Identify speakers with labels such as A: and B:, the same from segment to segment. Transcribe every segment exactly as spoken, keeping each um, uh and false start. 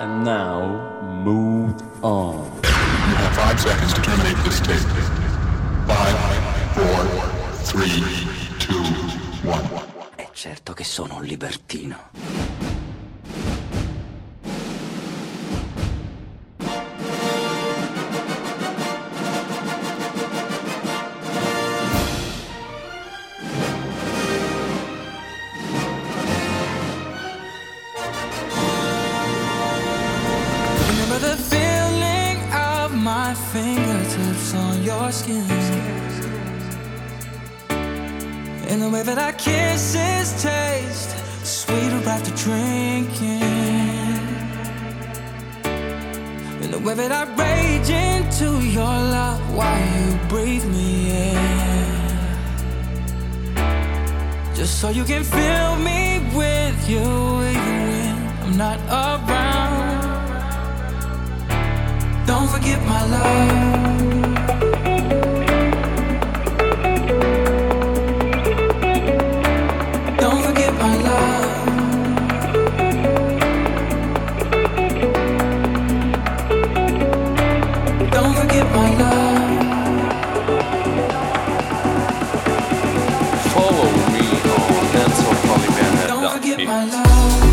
A: And now, move on.
B: You have five seconds to terminate this tape. Five, four, three, two, one.
C: È certo che sono un libertino.
D: Fingertips on your skin, and the way that our kisses taste sweeter after drinking, and the way that I rage into your love while you breathe me in, just so you can fill me with you even when I'm not around. Don't forget my love. Don't forget my love. Don't forget my love.
A: Follow me on Dance of Polyvan.
D: Don't forget my love.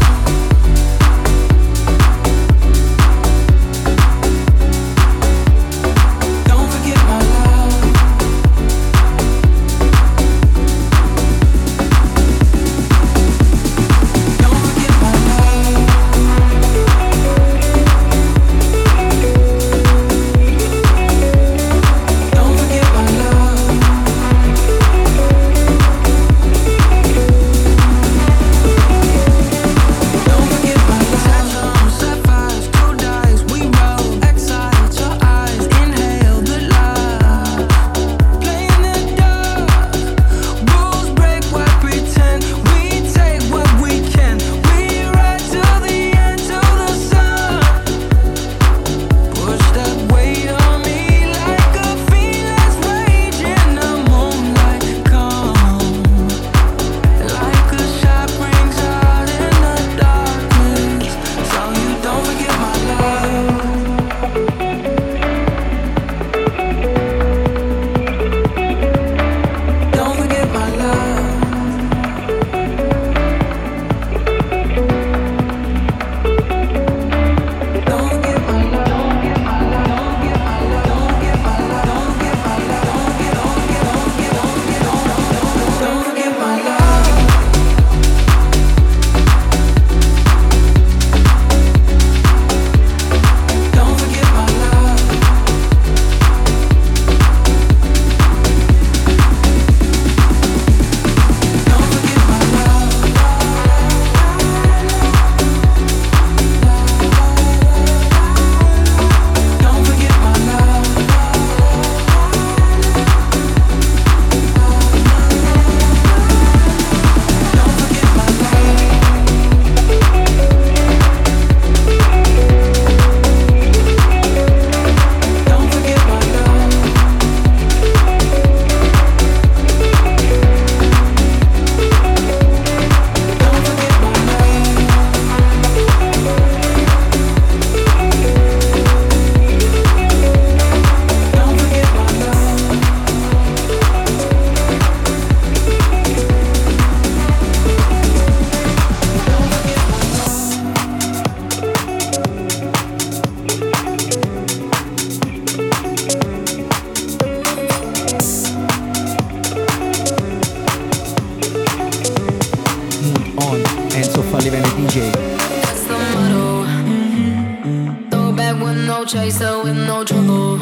E: Chaser with no trouble.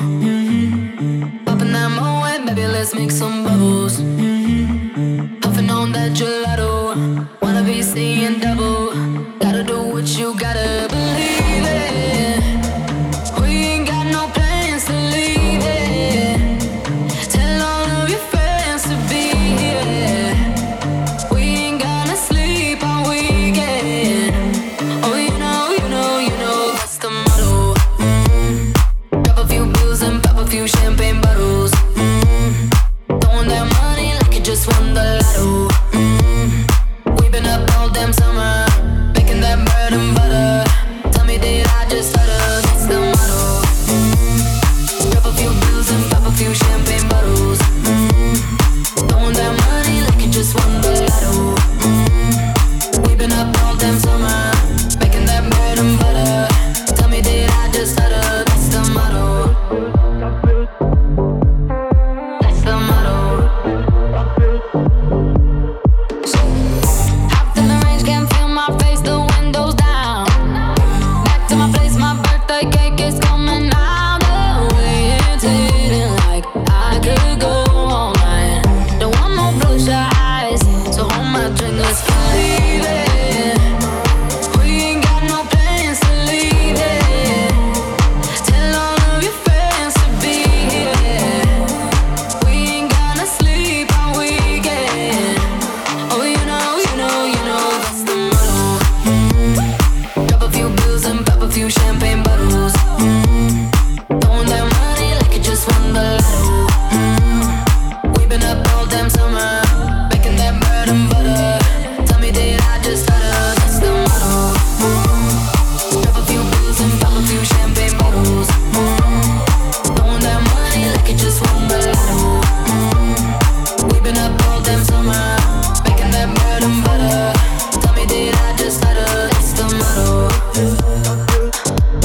E: Popping that Moet, baby, let's make some bubbles. Puffing on that gelato, wanna be seeing double. Gotta do what you gotta believe it. We ain't got no plans to leave it. Tell all of your friends to be here. We ain't gonna sleep all weekend. Oh, you know, you know, you know that's the motto. Few champagne bottles, mm. Throwing that money like you just won the lotto, mm. We've been up all damn summer, making that bread and butter. Tell me, did I few champagne bottles. Mm-hmm. Throwing that money like you just won the lotto. Mm-hmm. We've been up all damn summer, making that bread and butter. Tell me, did I just stutter? That's the motto. Mm-hmm. Grab a few pills and pop a few champagne bottles. Mm-hmm. Throwing that money like you just won the lotto. Mm-hmm. We've been up all damn summer, making that bread and butter. Tell me, did I just stutter? That's the motto.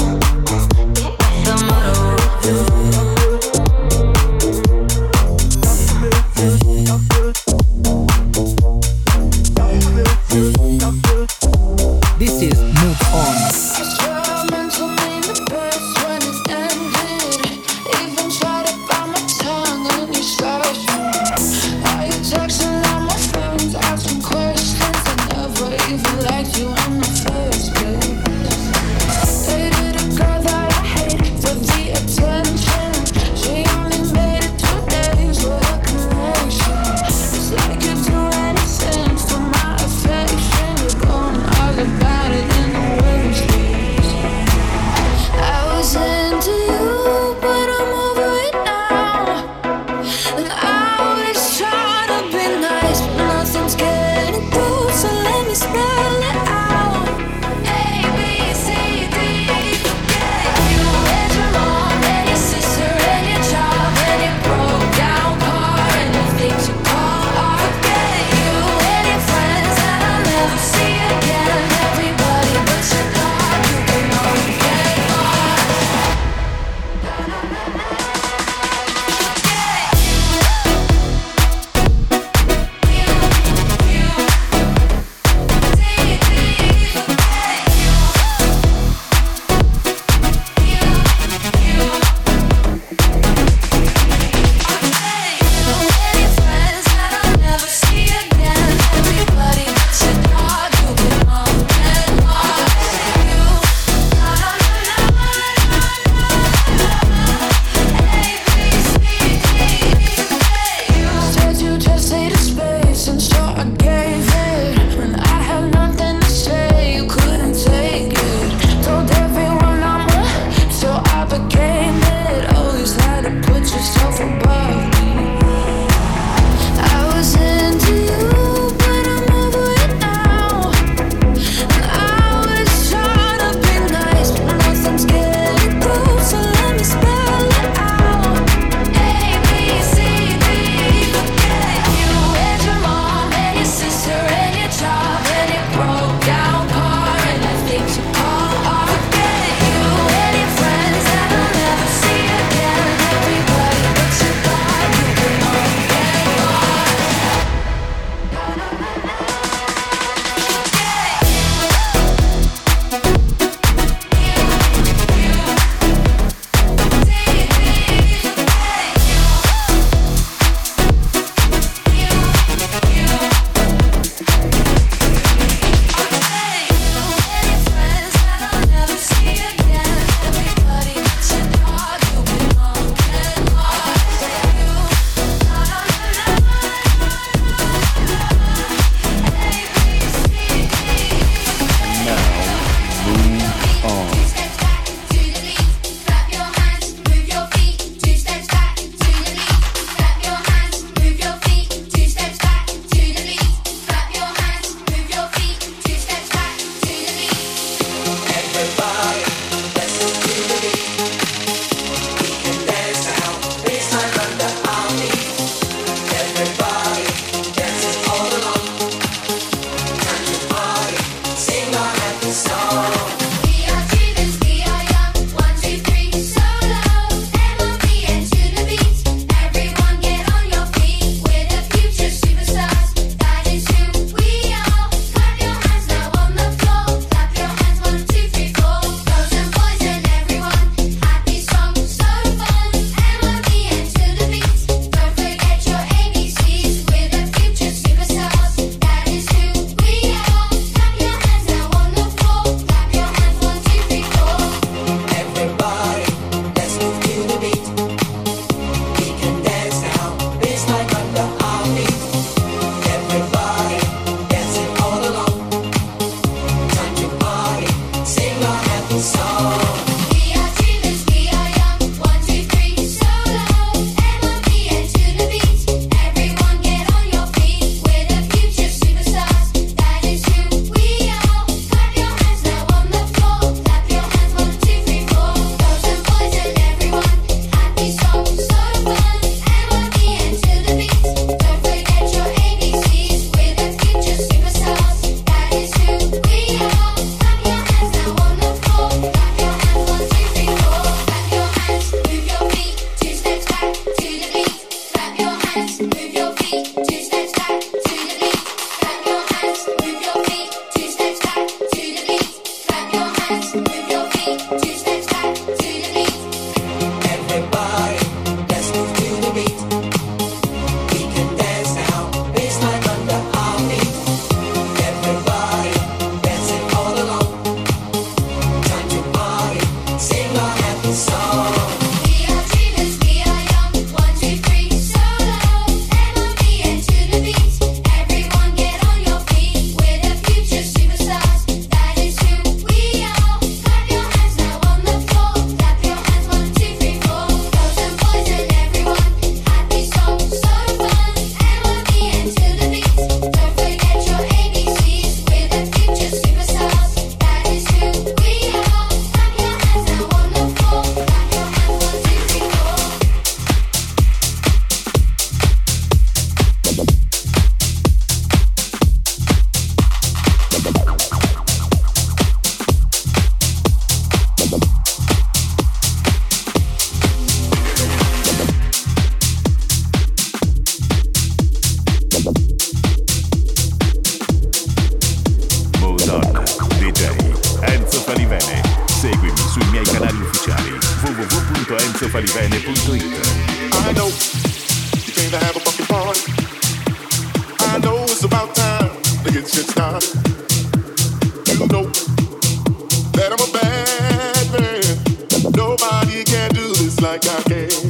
F: sui miei canali ufficiali w w w punto enzo falivene punto it.
G: I know you came to have a fucking party. I know it's about time to get shit started. You know that I'm a bad man. Nobody can do this like I can.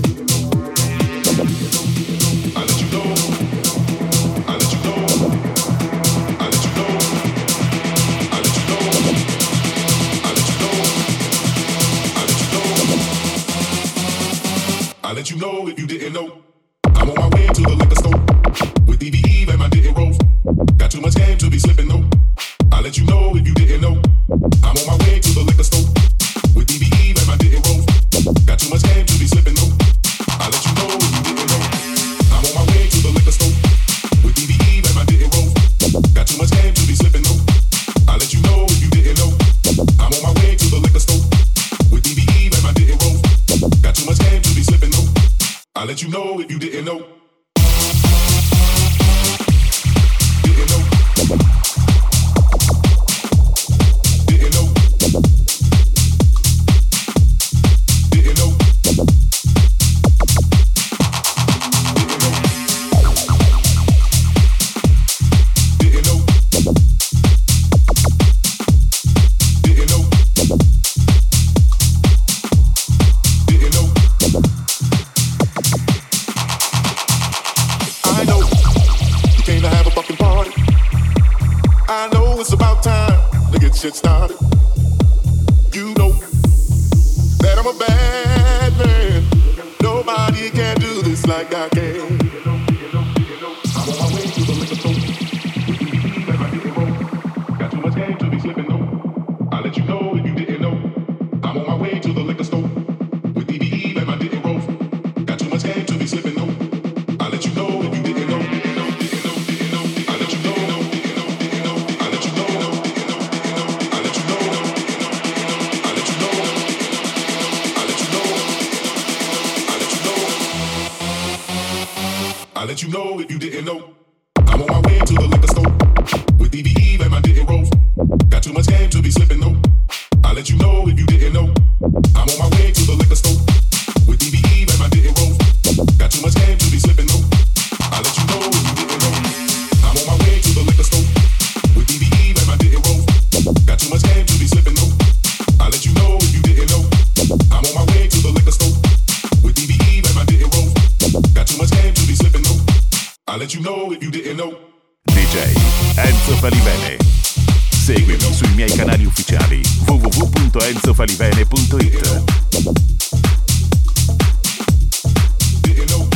G: I let you know. I let you know. I let you know. I let you know. I let you know. I let you know. I let you know if you didn't know. I'm on my way to the liquor store with D V E and my didn't rolls. Got too much game to be slipping, no. I'll let you know if you didn't know. I'm on my way to the liquor store with D V E and my didn't rolls. Got too much game to be slipping, no. I'll let you know if you didn't know. I'm on my way to the liquor store with D V E and my didn't rolls. Got too much game to be slipping, no. I'll let you know if you didn't know. I'm on my way to the liquor store with D V E and my didn't rolls. Got too much game to be slipping, no. I'll let you know if you didn't know. Didn't know. Didn't know. Didn't know. Didn't know. Didn't know. Didn't know. I know you came to have a fucking party. I know it's about time to get shit started. You know that I'm a bad man. Nobody can do this like I can. I'm on my way to the liquor store. Got too much game to be slipping, no. I'll let you know if you didn't know. I'm on my way to the liquor store with D V E and my didn't rolls. Got too much game to be slipping, no. I'll let you know if you didn't know. I'll let you know. I'll let you know. I'll let you know. I'll let you know. I'll let you know. I'll let you know. I'll let you know if you didn't know. I'm on my way to the liquor store with D V E and my didn't rolls. Got too much game to be slipping, no. I'll let you know if you didn't know. I'm on my way to the liquor store with D V E and my didn't rolls. Got too much game to be slipping, no. I'll let you know if you didn't know. I'm on my way to the liquor store with D V E and my didn't rolls. Got too much game to be slipping, no. I'll let you know if you didn't know. I'm on my way to the liquor store with D V E and my didn't rolls. Got too much game to be slipping, no. I'll let you know if you didn't know.
F: D J Enzo Falivene. Seguimi sui miei canali ufficiali w w w punto enzo falivene punto it.
G: Didn't know.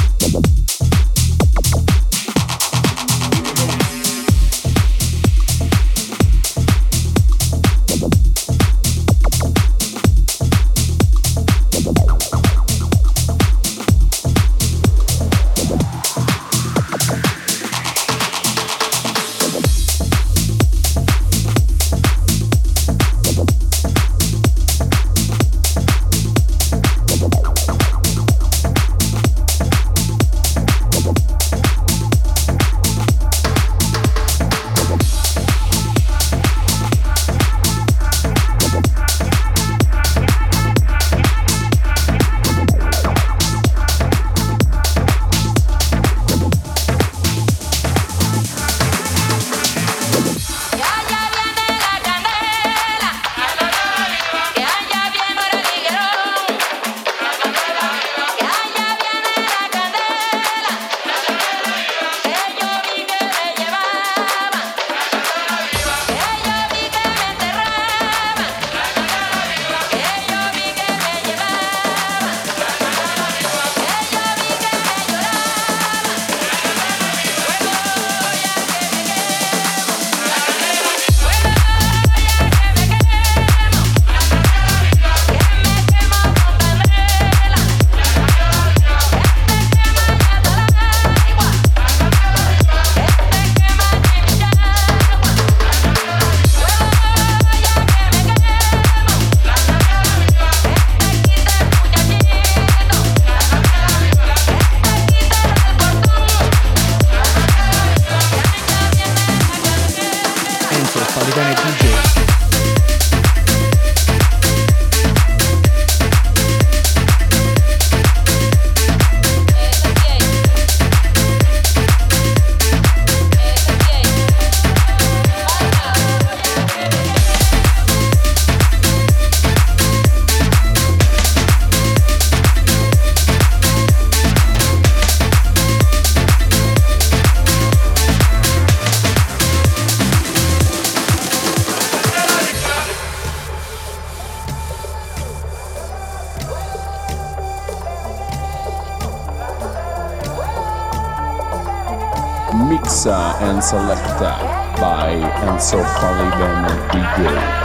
A: Mixa and Selecta by Enzo Faliben D J.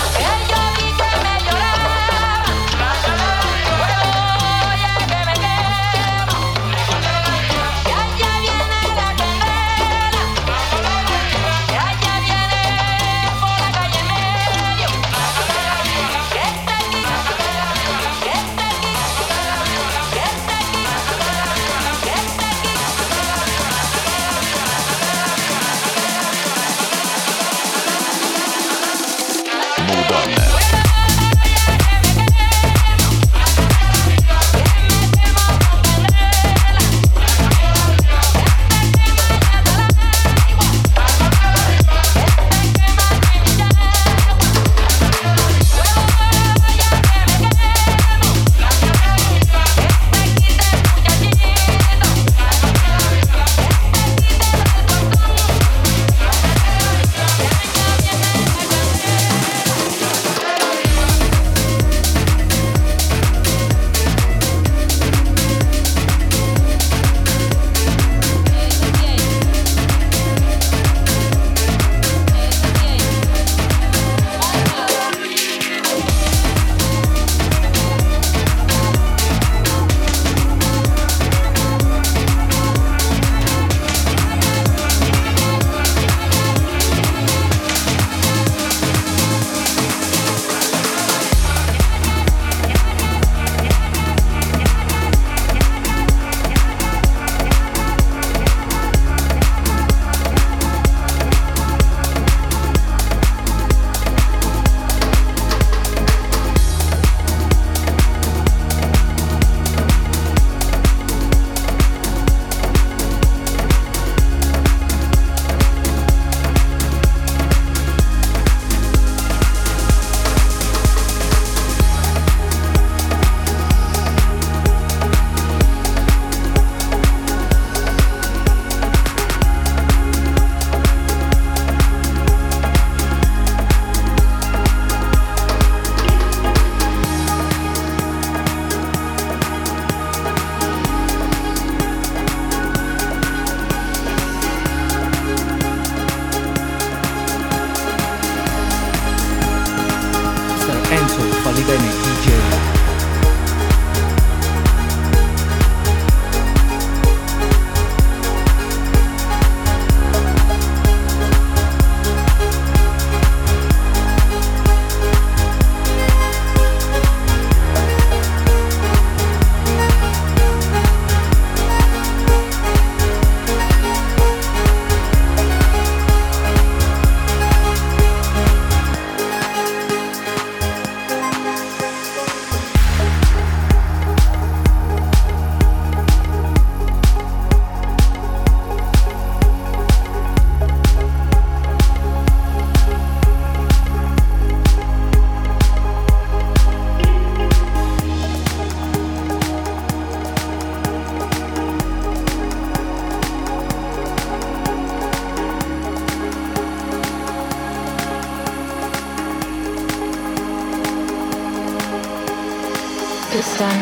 H: The sun,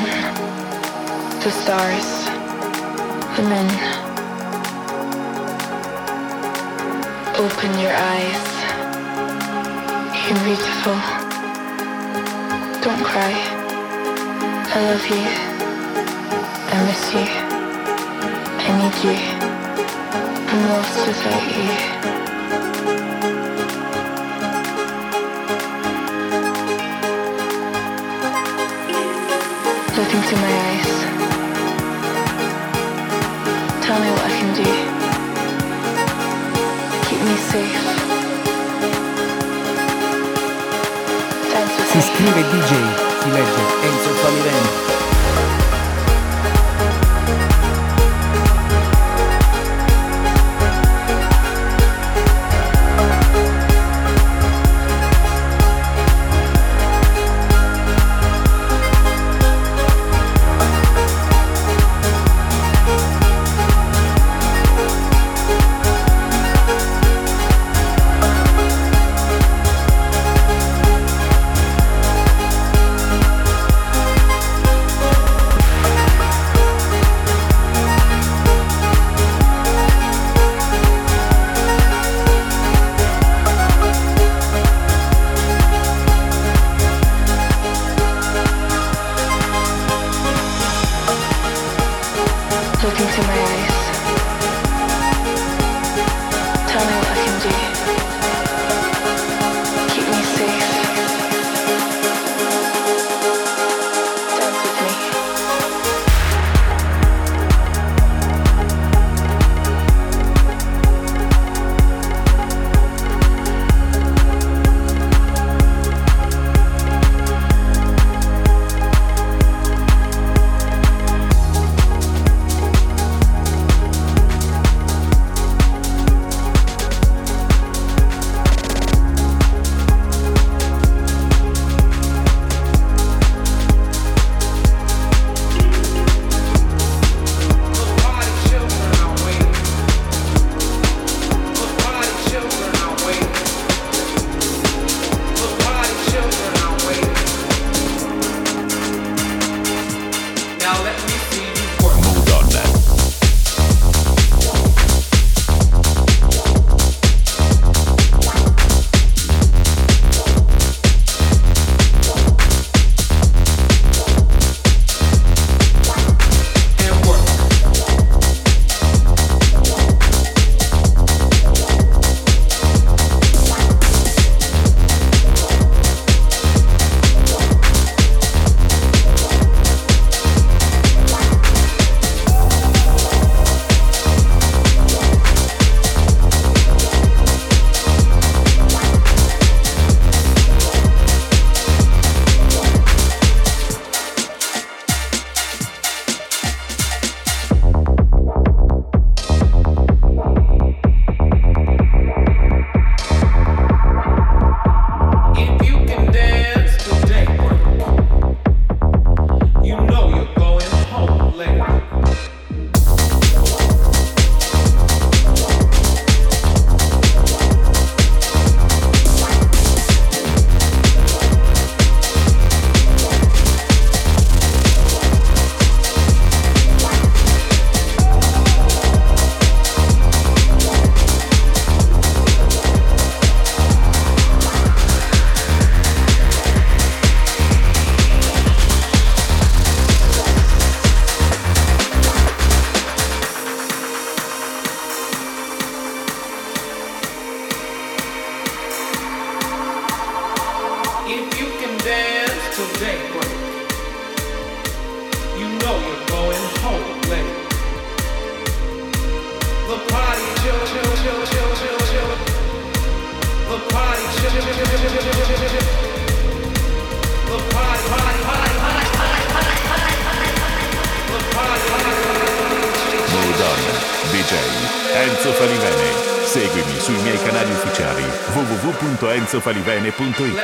H: the stars, the men. Open your eyes. You're beautiful. Don't cry. I love you. I miss you. I need you. I'm lost without you. Look into my eyes. Tell me what I can do. Keep me safe.
I: Si scrive D J, si legge Enzo Faliben.
F: D J Enzo Falivene. Seguimi sui miei canali ufficiali w w w punto enzo falivene punto it.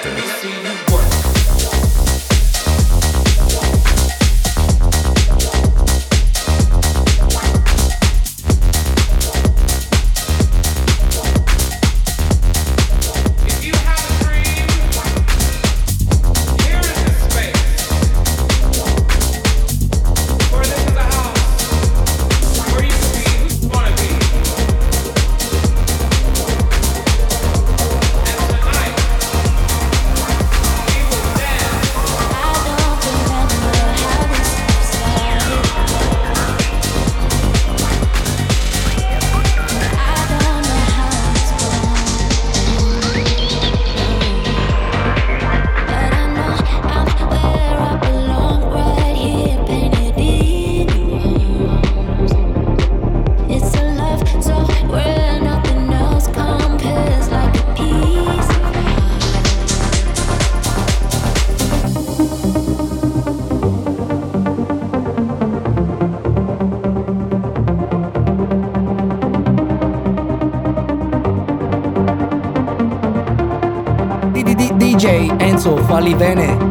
I: D J Enzo Falivene.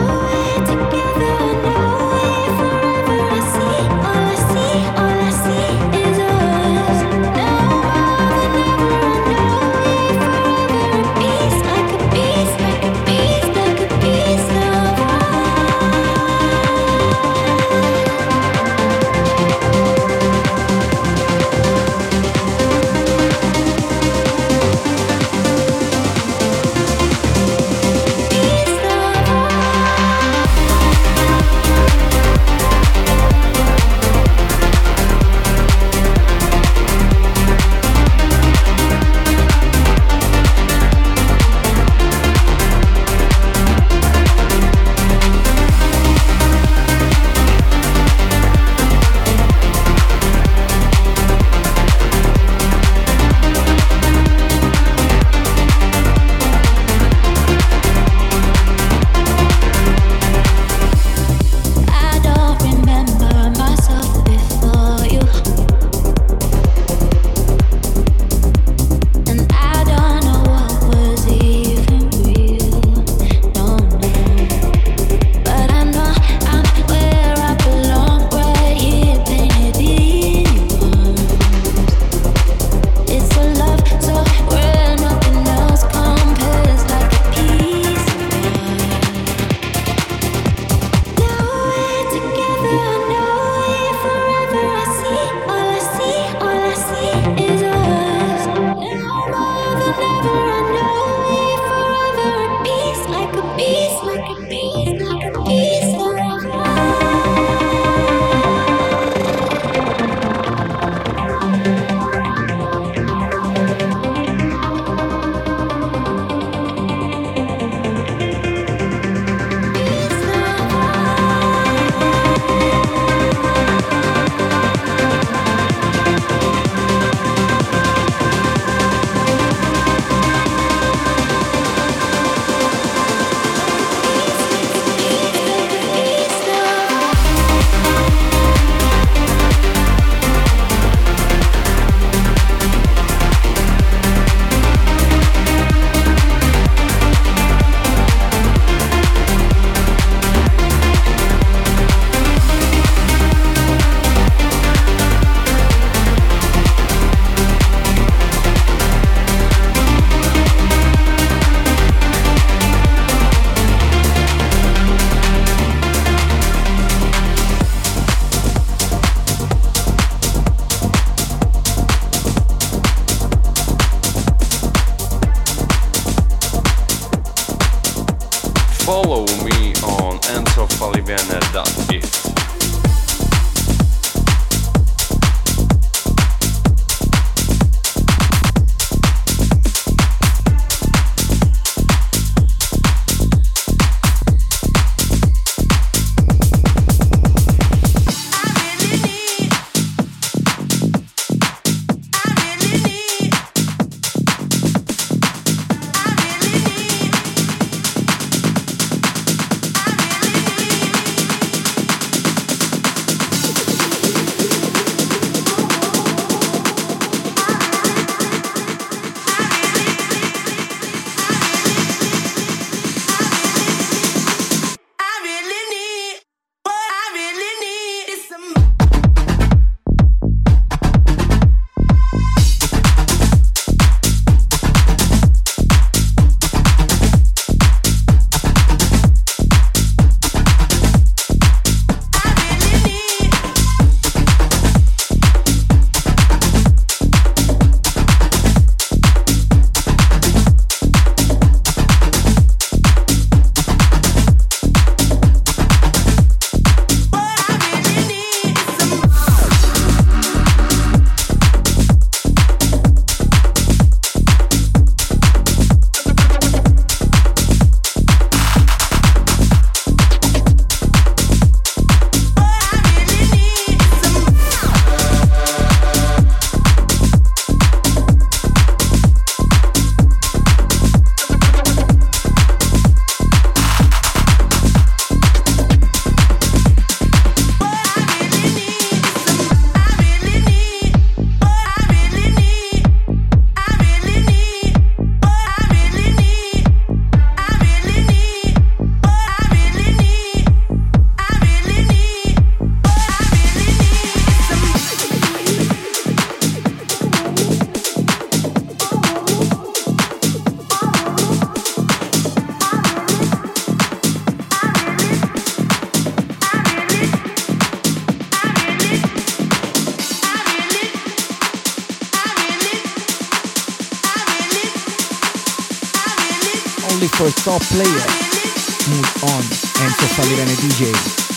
J: Follow me on enzo falivene dot it.
I: for top player. Move on, Enzo Falivene D J.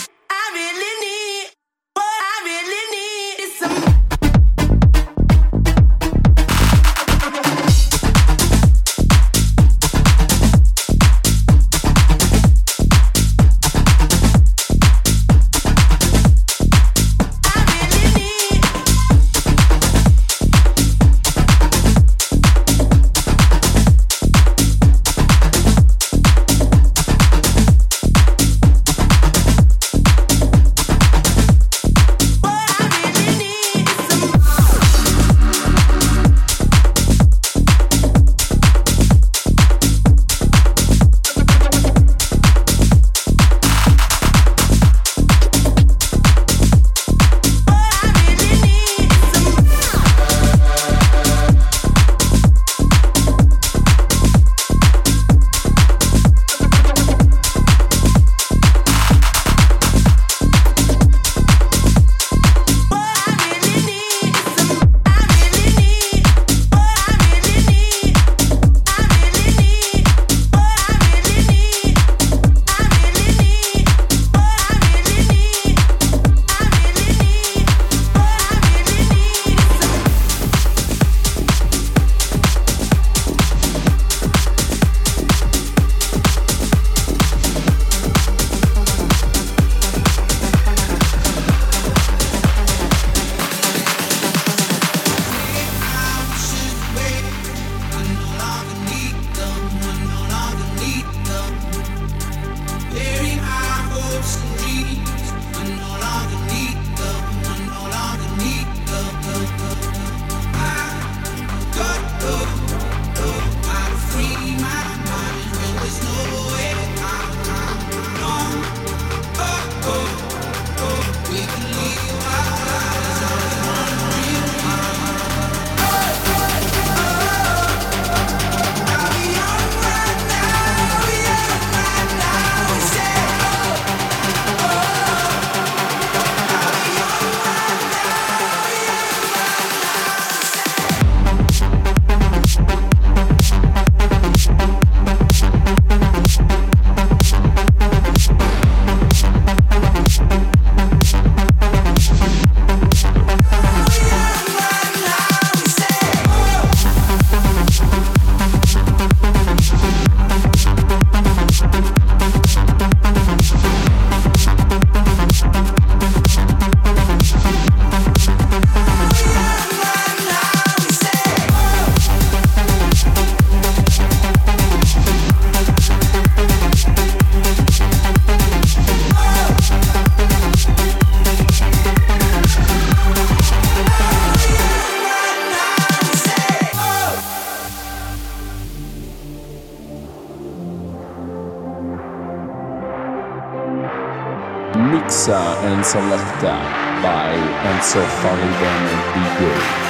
A: Mixa and selecta by Enzo Falivene D J.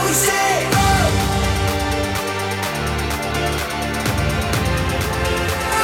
D: Oh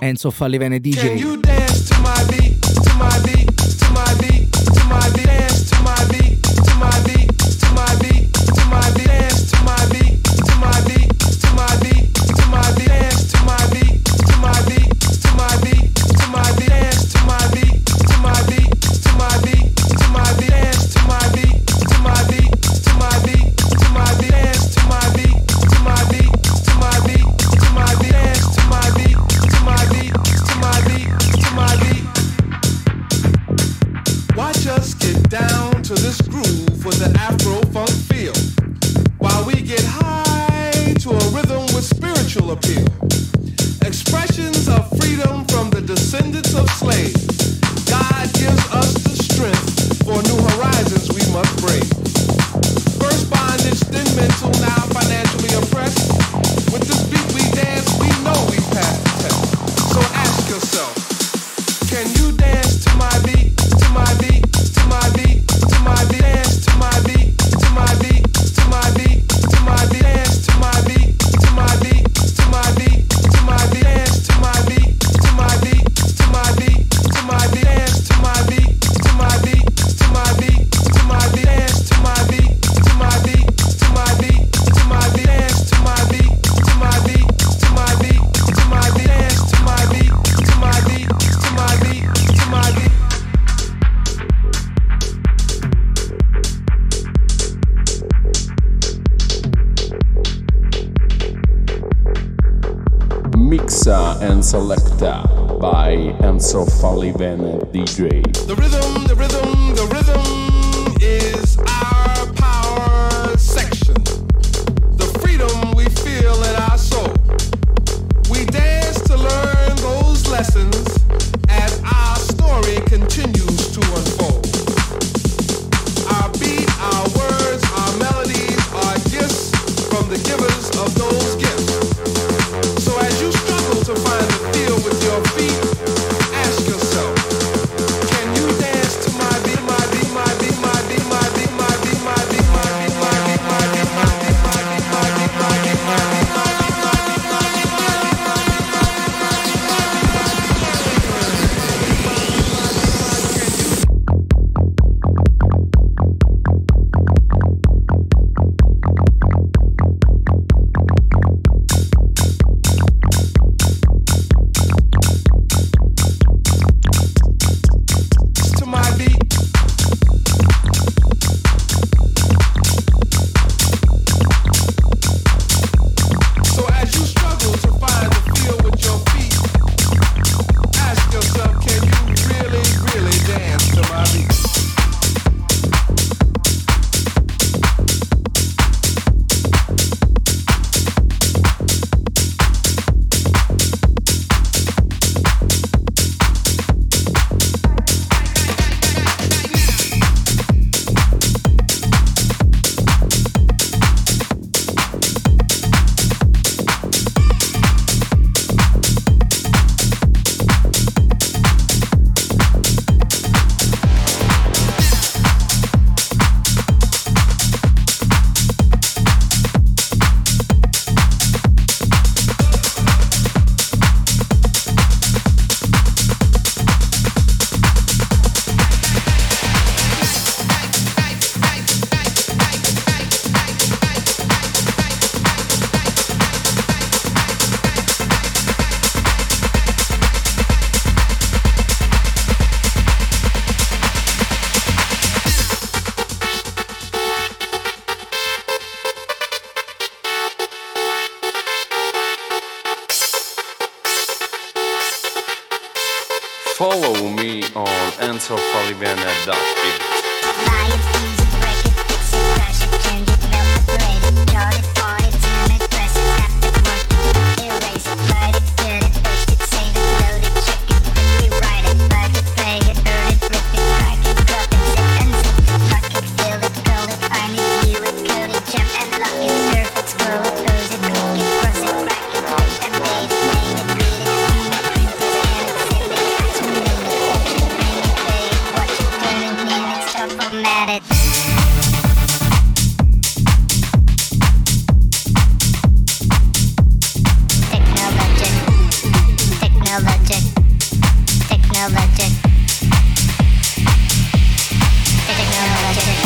I: Enzo Fallivene D J.
K: Can you dance to my beat, to my beat, to my beat, to my beat, dance to my beat, to my beat, to my beat, to my beat, dance to my beat, to my beat, to my beat, to my beat, dance to my beat, to my beat, to my beat, to my beat, dance to my beat, to my beat, to my beat, to my beat, dance to my beat, to my beat, to my beat, to my beat, dance to my beat, to my beat, to my beat, to my beat, dance to my beat, to my beat, to my beat, to my beat. Watch us get down to this groove with the Afro funk feel, while we get high to a rhythm with spiritual appeal. Expressions of freedom from the descendants of slaves. God gives us the strength for new horizons we must brave. First bondage, then mental, now financially oppressed. With this beat we dance, we know we passed the test. So ask yourself, can you dance to my beat, to my beat, to my beat, to my beat, dance to my beat, to my beat, to my beat, to my beat, dance to my beat, to my beat, to my beat, to my beat, dance to my beat, to my beat, to my beat, to my beat, dance to my beat, to my beat, to my beat, to my beat, dance to my beat, to my beat, to my beat, to my beat, dance to my beat, to my beat, to my beat, to my beat, dance to my beat, to my beat, to my beat, to my beat.
A: Mixa and selecta by Enzo Fallivene D J.
K: The rhythm, the rhythm, the rhythm is our power section. The freedom we feel in our soul. We dance to learn those lessons as our story continues to unfold. Our beat, our words, our melodies are gifts from the givers of those gifts. So as you struggle to find the feel with your feet, ask yourself, can you dance to my beat, my beat, my beat, my beat, my beat, my beat, my beat, my beat, my beat, my beat, my beat, my beat, my beat, my beat, my beat, my beat. To my beat. So as you struggle to find the feel with your feet, ask yourself, can you really, really dance to my beat?
J: Follow me on Enzo Fallivene dot beat.
E: At it.
L: Technologic. Technologic.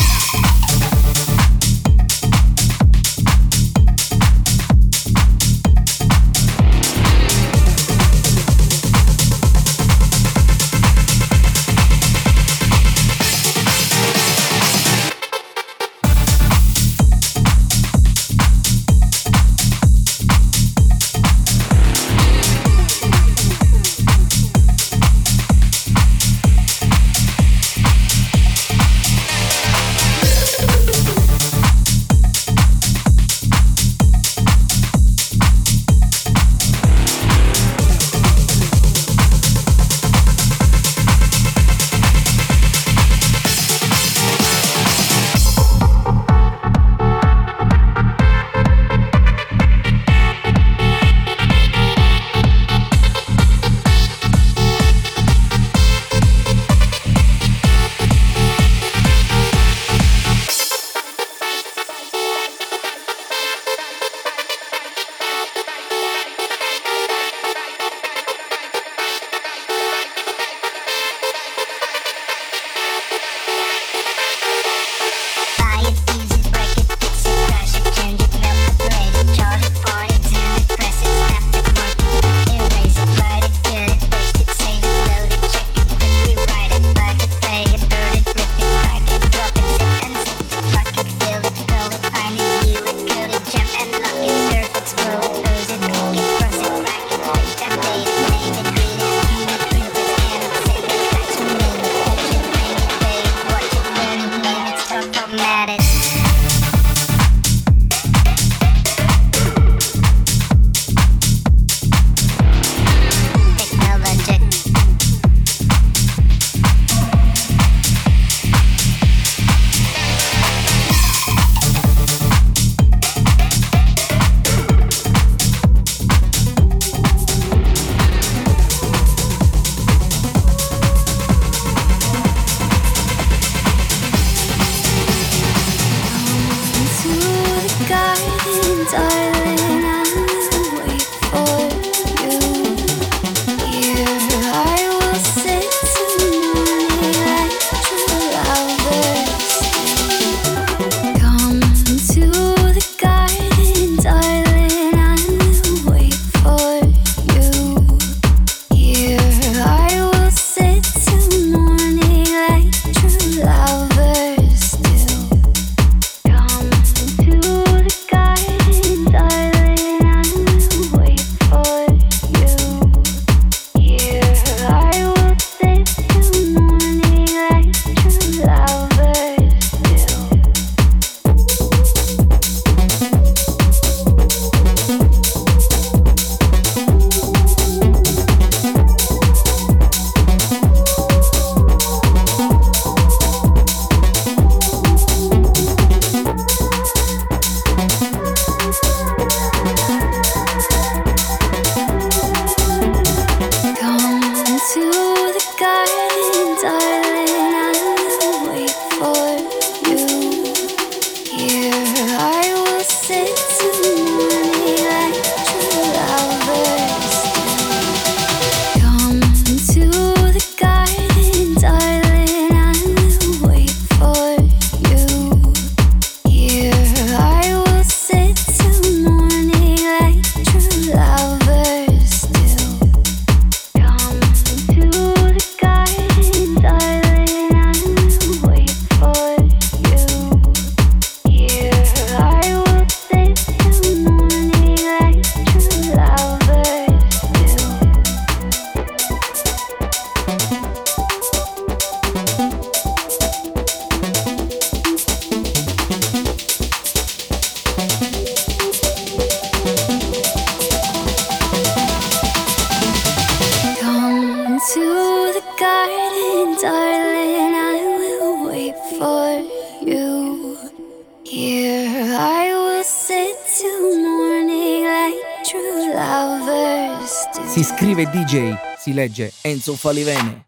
I: Si scrive D J, si legge Enzo Falivene.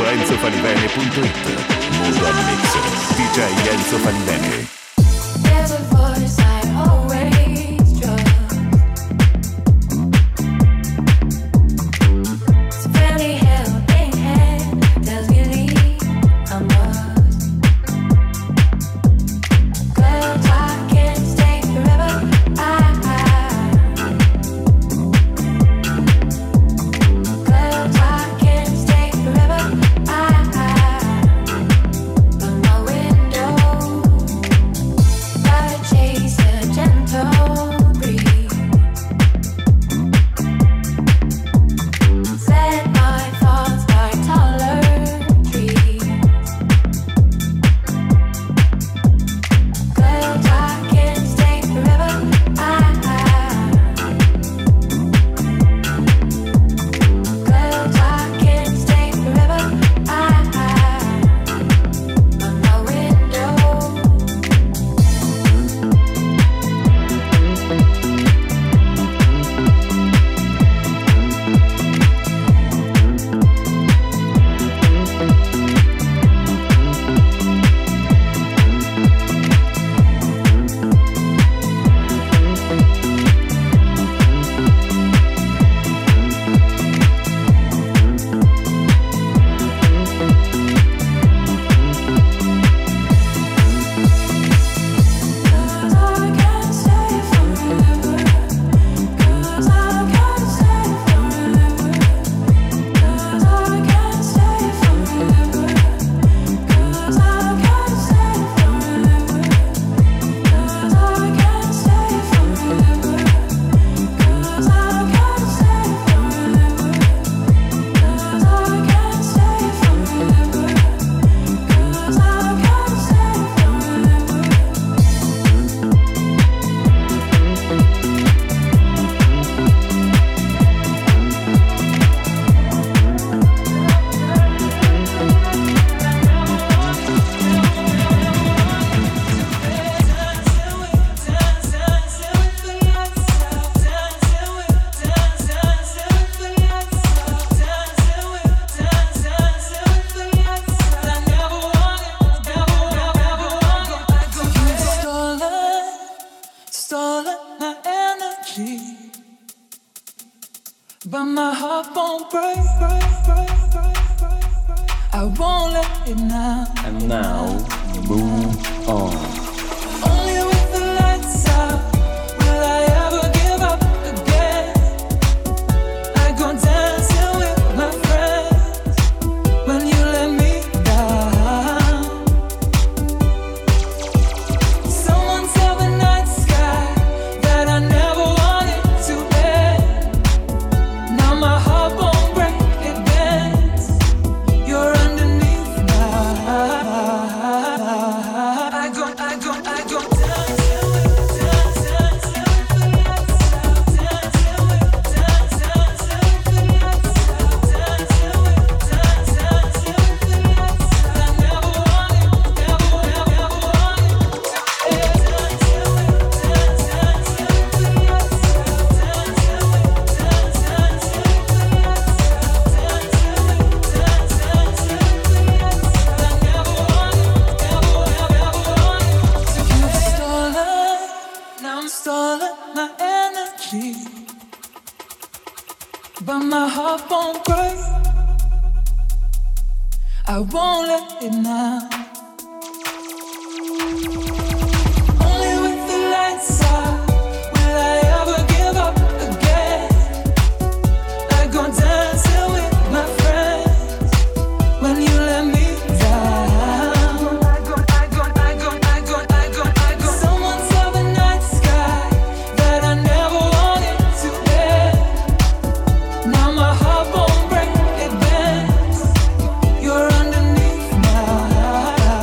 F: enzo falivene punto it. Mood on Mix, D J Enzo Falivene.
E: There's a voice I always trust. It's a fairly helping hand, tells me leave, I must. 'Cause I can't stay forever. I, I. 'Cause I can't stay forever. I, I. From my window, gotta chase a gentle breeze. Set my thoughts by taller trees. 'Cause I can't stay forever. I, I. 'Cause I can't stay forever. I, I. From my window.
D: Stolen my energy, but my heart won't break, break, break, break, break, break. I won't let it now.
A: And now, move on.
D: Only with the lights out will I ever give up again. I go dancing with my friends when you let me down. Someone tell the night sky that I never wanted to end. Now my heart won't break, it bends. You're underneath now. I go, I go, I go dancing with, dancing, dancing with the lights out. Dancing with, dancing, dancing with the lights out. Dancing with, dancing, dancing with the lights out. I never wanted, never, never, never wanted to end. Dancing with, dancing, dancing with the lights out. Dancing with, dancing, dancing with the lights out. Dancing with, dancing, dancing with the lights out. I never wanted, never, never, never wanted to. You've stolen, now I'm stolen my energy, but my heart won't break. I won't let it now. Only with the lights out will I ever give up again. I go dancing with my friends when you let me down. I go, I go, I go, I go, I go, I go. Someone tell the night sky that I never wanted to end. Now my heart won't break, it bends. You're underneath now.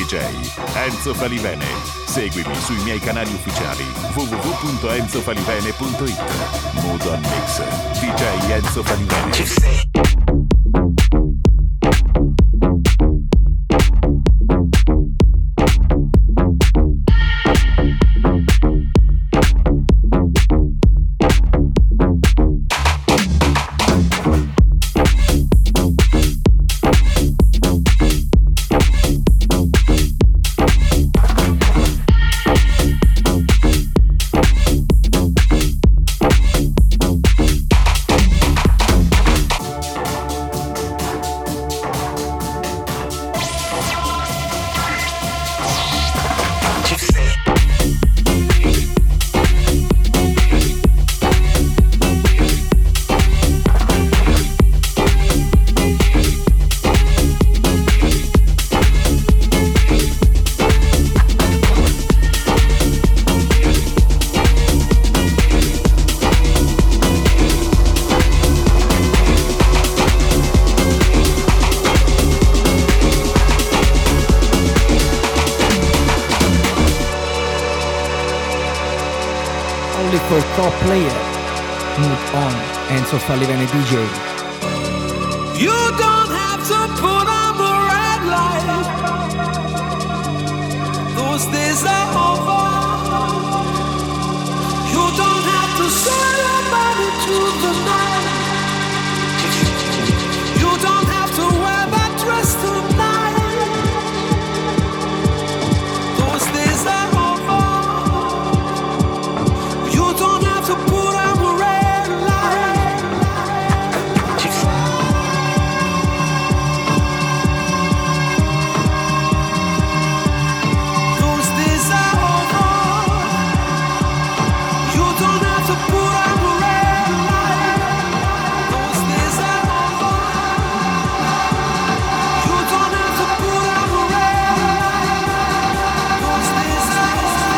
F: D J Enzo Falivene. Seguimi sui miei canali ufficiali w w w punto enzo falivene punto it. Mood on Mix D J Enzo Falivene.
I: For top player, Mood on Enzo Falivene D J.
D: You don't have to put on the red light. Those days are over. You don't have to sell your body to the night. You don't have to wear that dress tonight. Those days are over. You don't have to put on the red light. Those days are over. You don't have to put on the red light. Those days are over. You don't have to put on the red light. Those days are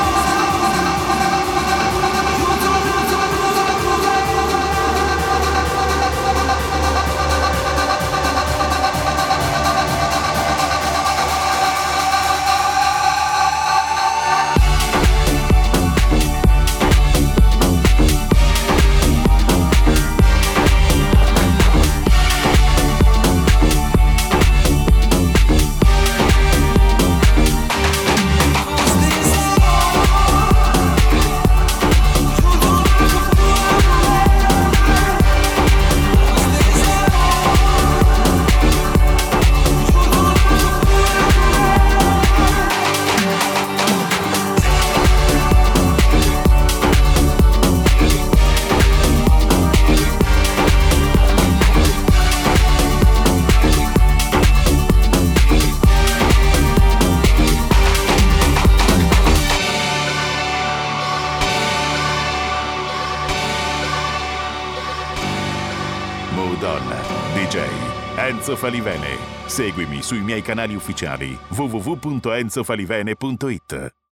F: Mood on D J Enzo Falivene. Seguimi sui miei canali ufficiali w w w punto enzo falivene punto it.